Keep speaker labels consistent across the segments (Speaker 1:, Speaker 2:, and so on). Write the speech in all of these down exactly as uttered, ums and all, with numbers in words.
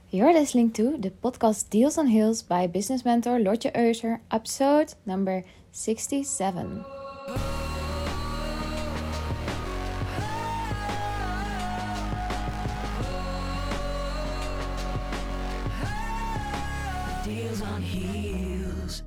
Speaker 1: You're listening to the podcast Deals on Heels by business mentor Lotje Euser, episode number sixty-seven. Deals on Heels.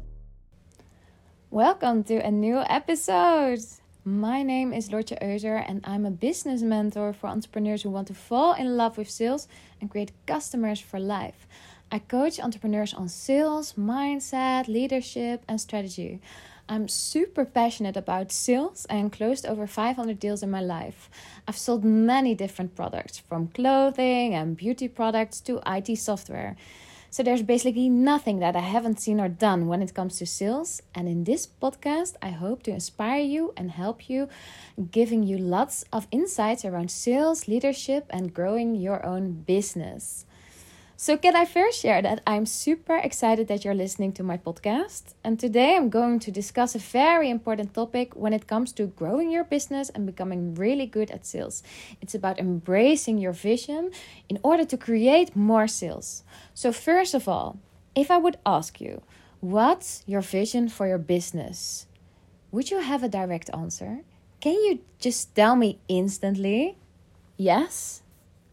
Speaker 1: Welcome to a new episode. My name is Lotje Euser and I'm a business mentor for entrepreneurs who want to fall in love with sales and create customers for life. I coach entrepreneurs on sales, mindset, leadership and strategy. I'm super passionate about sales and closed over five hundred deals in my life. I've sold many different products, from clothing and beauty products to I T software. So there's basically nothing that I haven't seen or done when it comes to sales. And in this podcast, I hope to inspire you and help you, giving you lots of insights around sales, leadership, and growing your own business. So can I first share that I'm super excited that you're listening to my podcast. And today I'm going to discuss a very important topic when it comes to growing your business and becoming really good at sales. It's about embracing your vision in order to create more sales. So first of all, if I would ask you, what's your vision for your business? Would you have a direct answer? Can you just tell me instantly? Yes?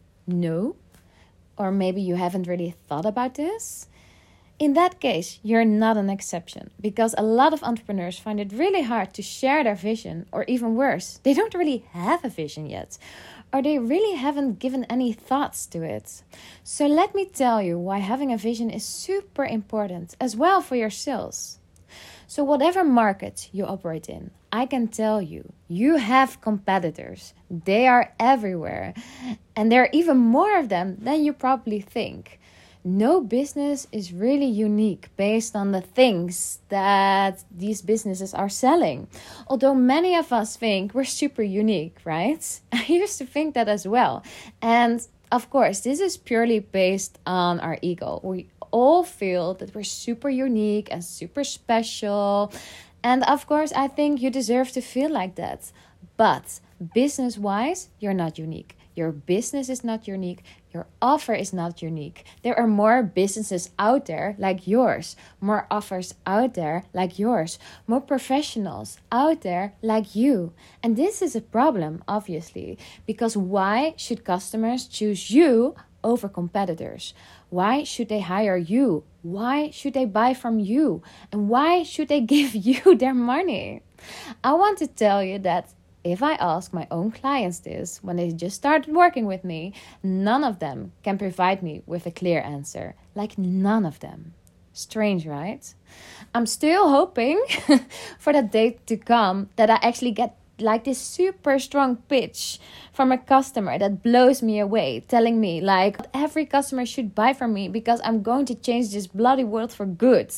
Speaker 1: No? Or maybe you haven't really thought about this? In that case, you're not an exception, because a lot of entrepreneurs find it really hard to share their vision, or even worse, they don't really have a vision yet, or they really haven't given any thoughts to it. So let me tell you why having a vision is super important, as well for your sales. So whatever market you operate in, I can tell you, you have competitors. They are everywhere. And there are even more of them than you probably think. No business is really unique based on the things that these businesses are selling. Although many of us think we're super unique, right? I used to think that as well. And of course, this is purely based on our ego. We all feel that we're super unique and super special. And of course, I think you deserve to feel like that. But business-wise, you're not unique. Your business is not unique. Your offer is not unique. There are more businesses out there like yours. More offers out there like yours. More professionals out there like you. And this is a problem, obviously. Because why should customers choose you over competitors? Why should they hire you? Why should they buy from you? And why should they give you their money? I want to tell you that if I ask my own clients this when they just started working with me, none of them can provide me with a clear answer. Like none of them. Strange, right? I'm still hoping for that day to come that I actually get like this super strong pitch from a customer that blows me away, telling me like every customer should buy from me because I'm going to change this bloody world for good.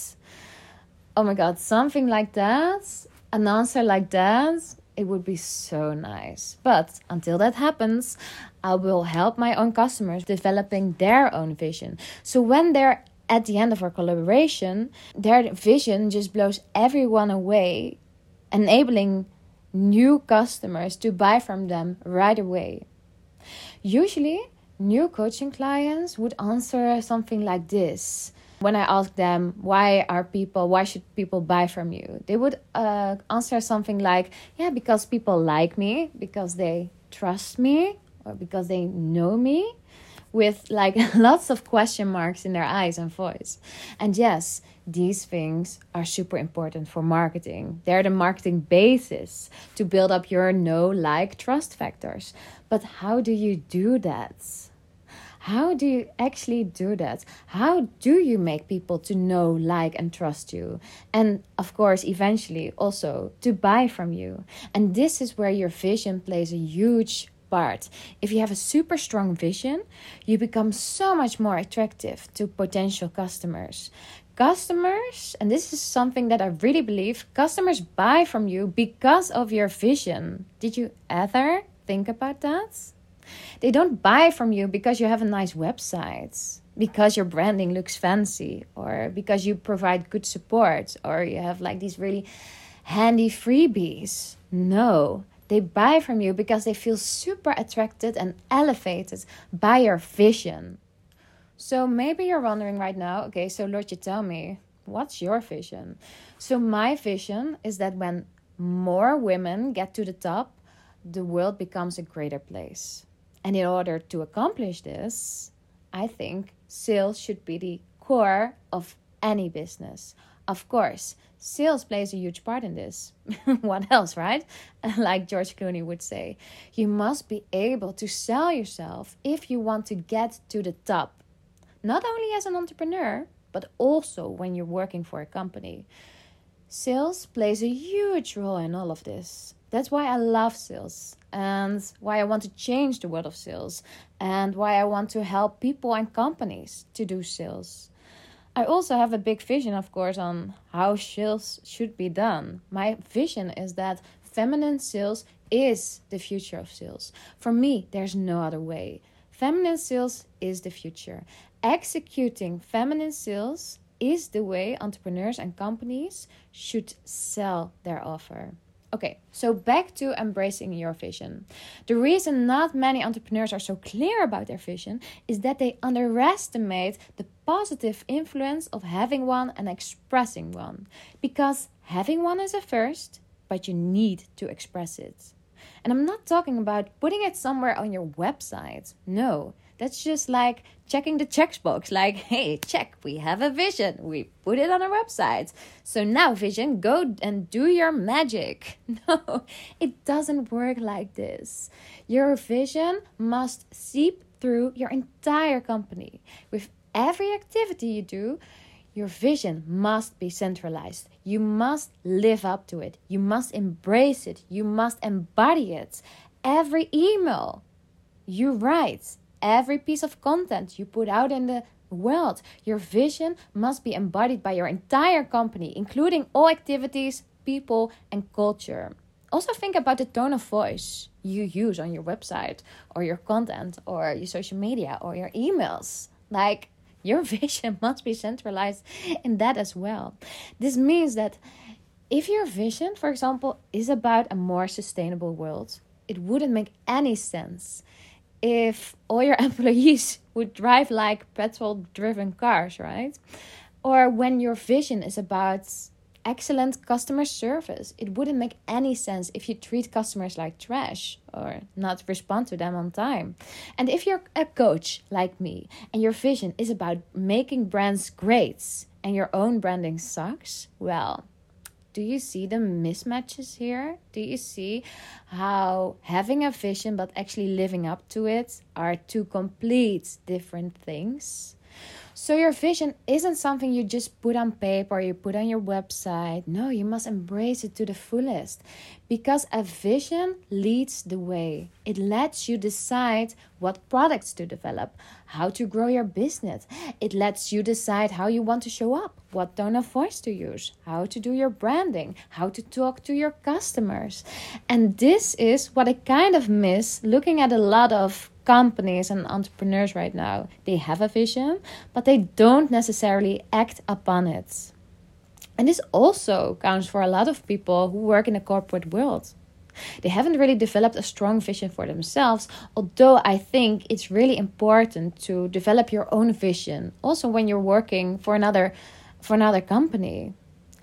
Speaker 1: Oh my God, something like that, an answer like that, it would be so nice. But until that happens, I will help my own customers developing their own vision. So when they're at the end of our collaboration, their vision just blows everyone away, enabling new customers to buy from them right away. Usually, new coaching clients would answer something like this. When I ask them, why are people, why should people buy from you? They would uh, answer something like, yeah, because people like me, because they trust me, or because they know me, with like lots of question marks in their eyes and voice. And yes, these things are super important for marketing. They're the marketing basis to build up your know, like, trust factors. But how do you do that? How do you actually do that? How do you make people to know, like, and trust you? And of course, eventually also to buy from you. And this is where your vision plays a huge part. If you have a super strong vision, you become so much more attractive to potential customers. Customers, and this is something that I really believe, customers buy from you because of your vision. Did you ever think about that? They don't buy from you because you have a nice website, because your branding looks fancy, or because you provide good support, or you have like these really handy freebies. No, they buy from you because they feel super attracted and elevated by your vision. So maybe you're wondering right now, okay, so Lord, you tell me, what's your vision? So my vision is that when more women get to the top, the world becomes a greater place. And in order to accomplish this, I think sales should be the core of any business. Of course, sales plays a huge part in this. What else, right? Like George Clooney would say, you must be able to sell yourself if you want to get to the top. Not only as an entrepreneur, but also when you're working for a company. Sales plays a huge role in all of this. That's why I love sales and why I want to change the world of sales and why I want to help people and companies to do sales. I also have a big vision, of course, on how sales should be done. My vision is that feminine sales is the future of sales. For me, there's no other way. Feminine sales is the future. Executing feminine sales is the way entrepreneurs and companies should sell their offer. Okay, so back to embracing your vision. The reason not many entrepreneurs are so clear about their vision is that they underestimate the positive influence of having one and expressing one. Because having one is a first, but you need to express it. And I'm not talking about putting it somewhere on your website. No, that's just like checking the checkbox. Like, hey, check, we have a vision. We put it on our website. So now, vision, go and do your magic. No, it doesn't work like this. Your vision must seep through your entire company. With every activity you do, your vision must be centralized. You must live up to it. You must embrace it. You must embody it. Every email you write, every piece of content you put out in the world, your vision must be embodied by your entire company, including all activities, people, and culture. Also think about the tone of voice you use on your website or your content or your social media or your emails. Like, your vision must be centralized in that as well. This means that if your vision, for example, is about a more sustainable world, it wouldn't make any sense if all your employees would drive like petrol-driven cars, right? Or when your vision is about excellent customer service, it wouldn't make any sense if you treat customers like trash or not respond to them on time. And if you're a coach like me and your vision is about making brands great and your own branding sucks, well, do you see the mismatches here? Do you see how having a vision but actually living up to it are two complete different things? So your vision isn't something you just put on paper or you put on your website. No, you must embrace it to the fullest. Because a vision leads the way. It lets you decide what products to develop, how to grow your business. It lets you decide how you want to show up, what tone of voice to use, how to do your branding, how to talk to your customers. And this is what I kind of miss looking at a lot of companies and entrepreneurs right now. They have a vision, but they don't necessarily act upon it. And this also counts for a lot of people who work in the corporate world. They haven't really developed a strong vision for themselves, although I think it's really important to develop your own vision, also when you're working for another for another company.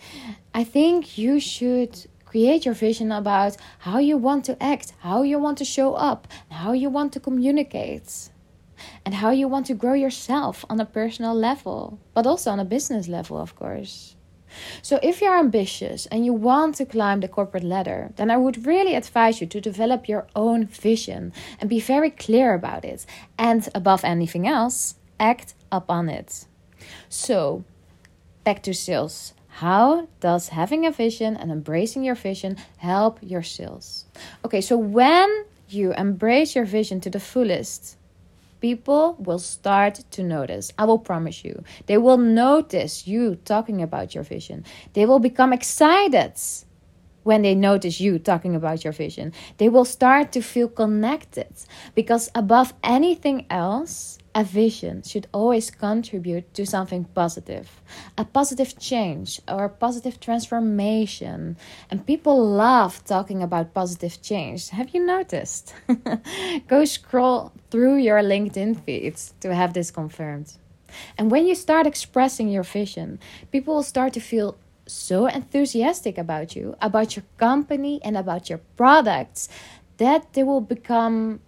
Speaker 1: I think you should create your vision about how you want to act, how you want to show up, how you want to communicate, and how you want to grow yourself on a personal level, but also on a business level, of course. So if you're ambitious and you want to climb the corporate ladder, then I would really advise you to develop your own vision and be very clear about it. And above anything else, act upon it. So, back to sales. How does having a vision and embracing your vision help your sales? Okay, so when you embrace your vision to the fullest, people will start to notice. I will promise you. They will notice you talking about your vision. They will become excited when they notice you talking about your vision. They will start to feel connected because above anything else, a vision should always contribute to something positive, a positive change or a positive transformation. And people love talking about positive change. Have you noticed? Go scroll through your LinkedIn feeds to have this confirmed. And when you start expressing your vision, people will start to feel so enthusiastic about you, about your company, and about your products that they will become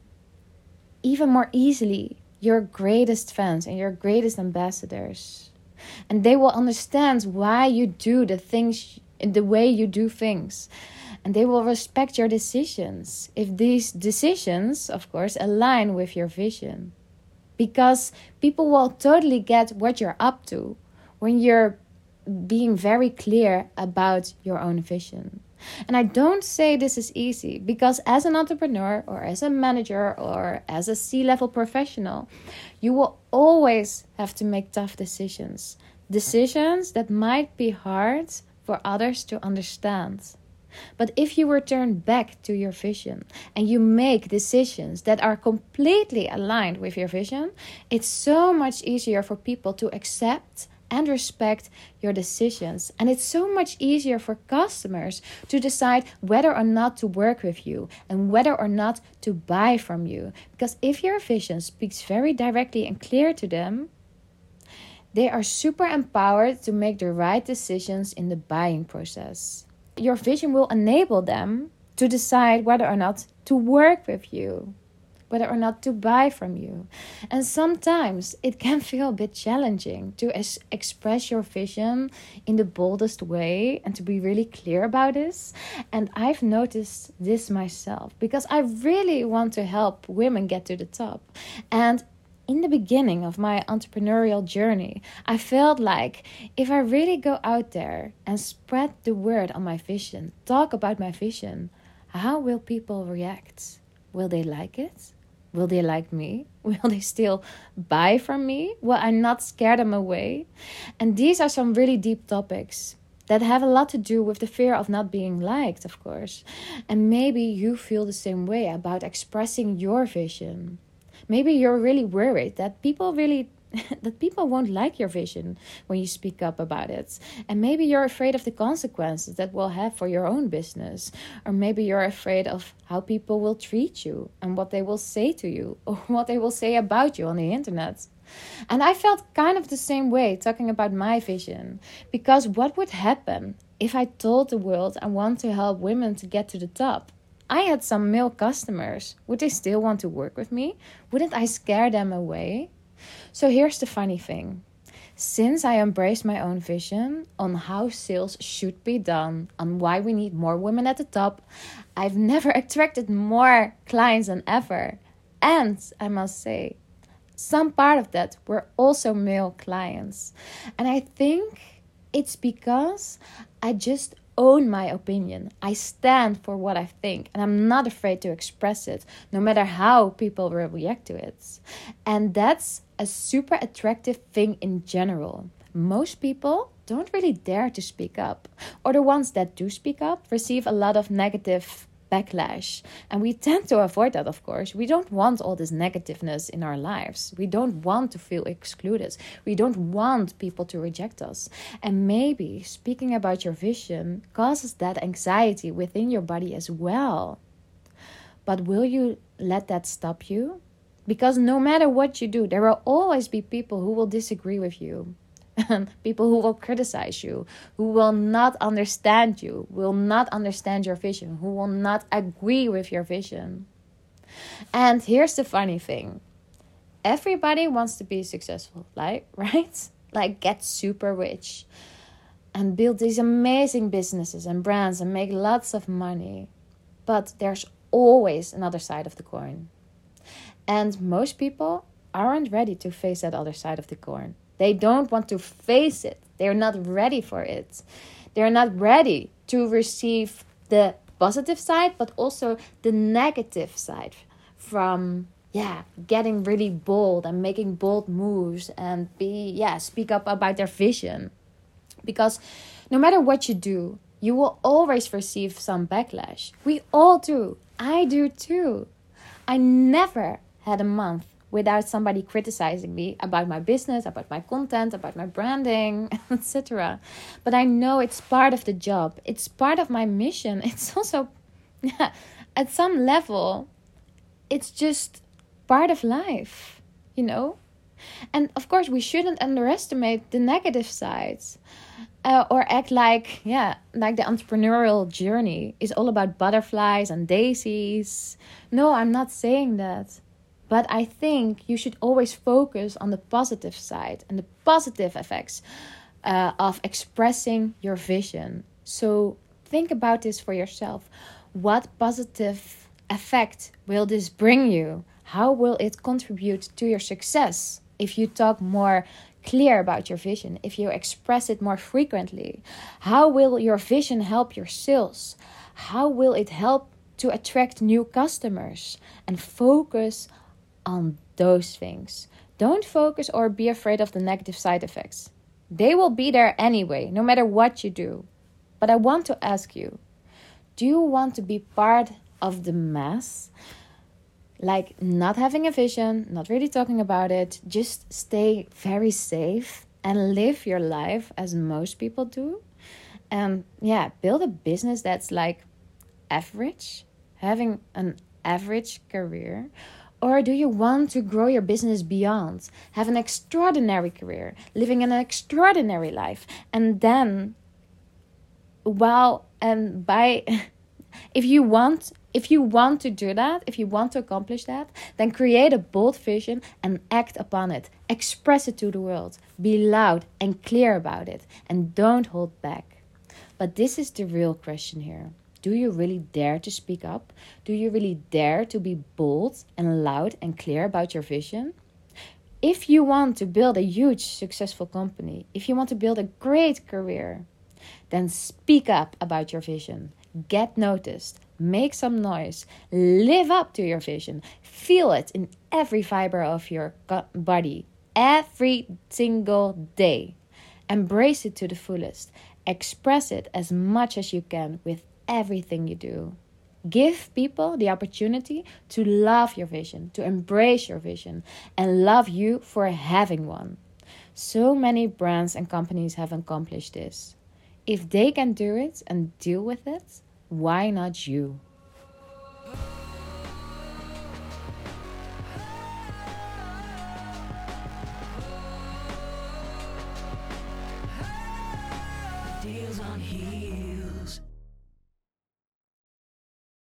Speaker 1: even more easily your greatest fans and your greatest ambassadors. And they will understand why you do the things, the way you do things. And they will respect your decisions if these decisions, of course, align with your vision. Because people will totally get what you're up to when you're being very clear about your own vision. And I don't say this is easy, because as an entrepreneur or as a manager or as a C-level professional, you will always have to make tough decisions. Decisions that might be hard for others to understand. But if you return back to your vision and you make decisions that are completely aligned with your vision, it's so much easier for people to accept and respect your decisions. And it's so much easier for customers to decide whether or not to work with you and whether or not to buy from you. Because if your vision speaks very directly and clear to them, they are super empowered to make the right decisions in the buying process. Your vision will enable them to decide whether or not to work with you, whether or not to buy from you. And sometimes it can feel a bit challenging to es- express your vision in the boldest way and to be really clear about this. And I've noticed this myself because I really want to help women get to the top. And in the beginning of my entrepreneurial journey, I felt like if I really go out there and spread the word on my vision, talk about my vision, how will people react? Will they like it? Will they like me? Will they still buy from me? Will I not scare them away? And these are some really deep topics that have a lot to do with the fear of not being liked, of course. And maybe you feel the same way about expressing your vision. Maybe you're really worried that people really that people won't like your vision when you speak up about it. And maybe you're afraid of the consequences that will have for your own business. Or maybe you're afraid of how people will treat you and what they will say to you or what they will say about you on the internet. And I felt kind of the same way talking about my vision. Because what would happen if I told the world I want to help women to get to the top? I had some male customers. Would they still want to work with me? Wouldn't I scare them away? So here's the funny thing. Since I embraced my own vision on how sales should be done, on why we need more women at the top, I've never attracted more clients than ever. And I must say, some part of that were also male clients. And I think it's because I just own my opinion. I stand for what I think and I'm not afraid to express it, no matter how people will react to it. And that's a super attractive thing in general. Most people don't really dare to speak up, or the ones that do speak up receive a lot of negative backlash. And we tend to avoid that, of course. We don't want all this negativeness in our lives. We don't want to feel excluded. We don't want people to reject us. And maybe speaking about your vision causes that anxiety within your body as well. But will you let that stop you? Because no matter what you do, there will always be people who will disagree with you. People who will criticize you, who will not understand you, will not understand your vision, who will not agree with your vision. And here's the funny thing. Everybody wants to be successful, like, right? Like get super rich and build these amazing businesses and brands and make lots of money. But there's always another side of the coin. And most people aren't ready to face that other side of the coin. They don't want to face it. They're not ready for it. They're not ready to receive the positive side, but also the negative side from, yeah, getting really bold and making bold moves and be, yeah, speak up about their vision. Because no matter what you do, you will always receive some backlash. We all do. I do too. I never had a month without somebody criticizing me about my business, about my content, about my branding, et cetera. But I know it's part of the job. It's part of my mission. It's also, yeah, at some level, it's just part of life, you know? And of course, we shouldn't underestimate the negative sides. Uh, or act like, yeah, like the entrepreneurial journey is all about butterflies and daisies. No, I'm not saying that. But I think you should always focus on the positive side and the positive effects uh, of expressing your vision. So think about this for yourself. What positive effect will this bring you? How will it contribute to your success if you talk more clear about your vision, if you express it more frequently? How will your vision help your sales? How will it help to attract new customers? And focus on those things. Don't focus or be afraid of the negative side effects. They will be there anyway, no matter what you do. But I want to ask you, do you want to be part of the mass? Like not having a vision, not really talking about it, just stay very safe and live your life as most people do. And yeah, build a business that's like average, having an average career. Or do you want to grow your business beyond, have an extraordinary career, living an extraordinary life, and then, well, and by, if you want, if you want to do that, if you want to accomplish that, then create a bold vision and act upon it. Express it to the world. Be loud and clear about it, and don't hold back. But this is the real question here. Do you really dare to speak up? Do you really dare to be bold and loud and clear about your vision? If you want to build a huge successful company, if you want to build a great career, then speak up about your vision. Get noticed. Make some noise. Live up to your vision. Feel it in every fiber of your body, every single day. Embrace it to the fullest. Express it as much as you can with everything you do. Give people the opportunity to love your vision, to embrace your vision, and love you for having one. So many brands and companies have accomplished this. If they can do it and deal with it, why not you?
Speaker 2: Deals on here.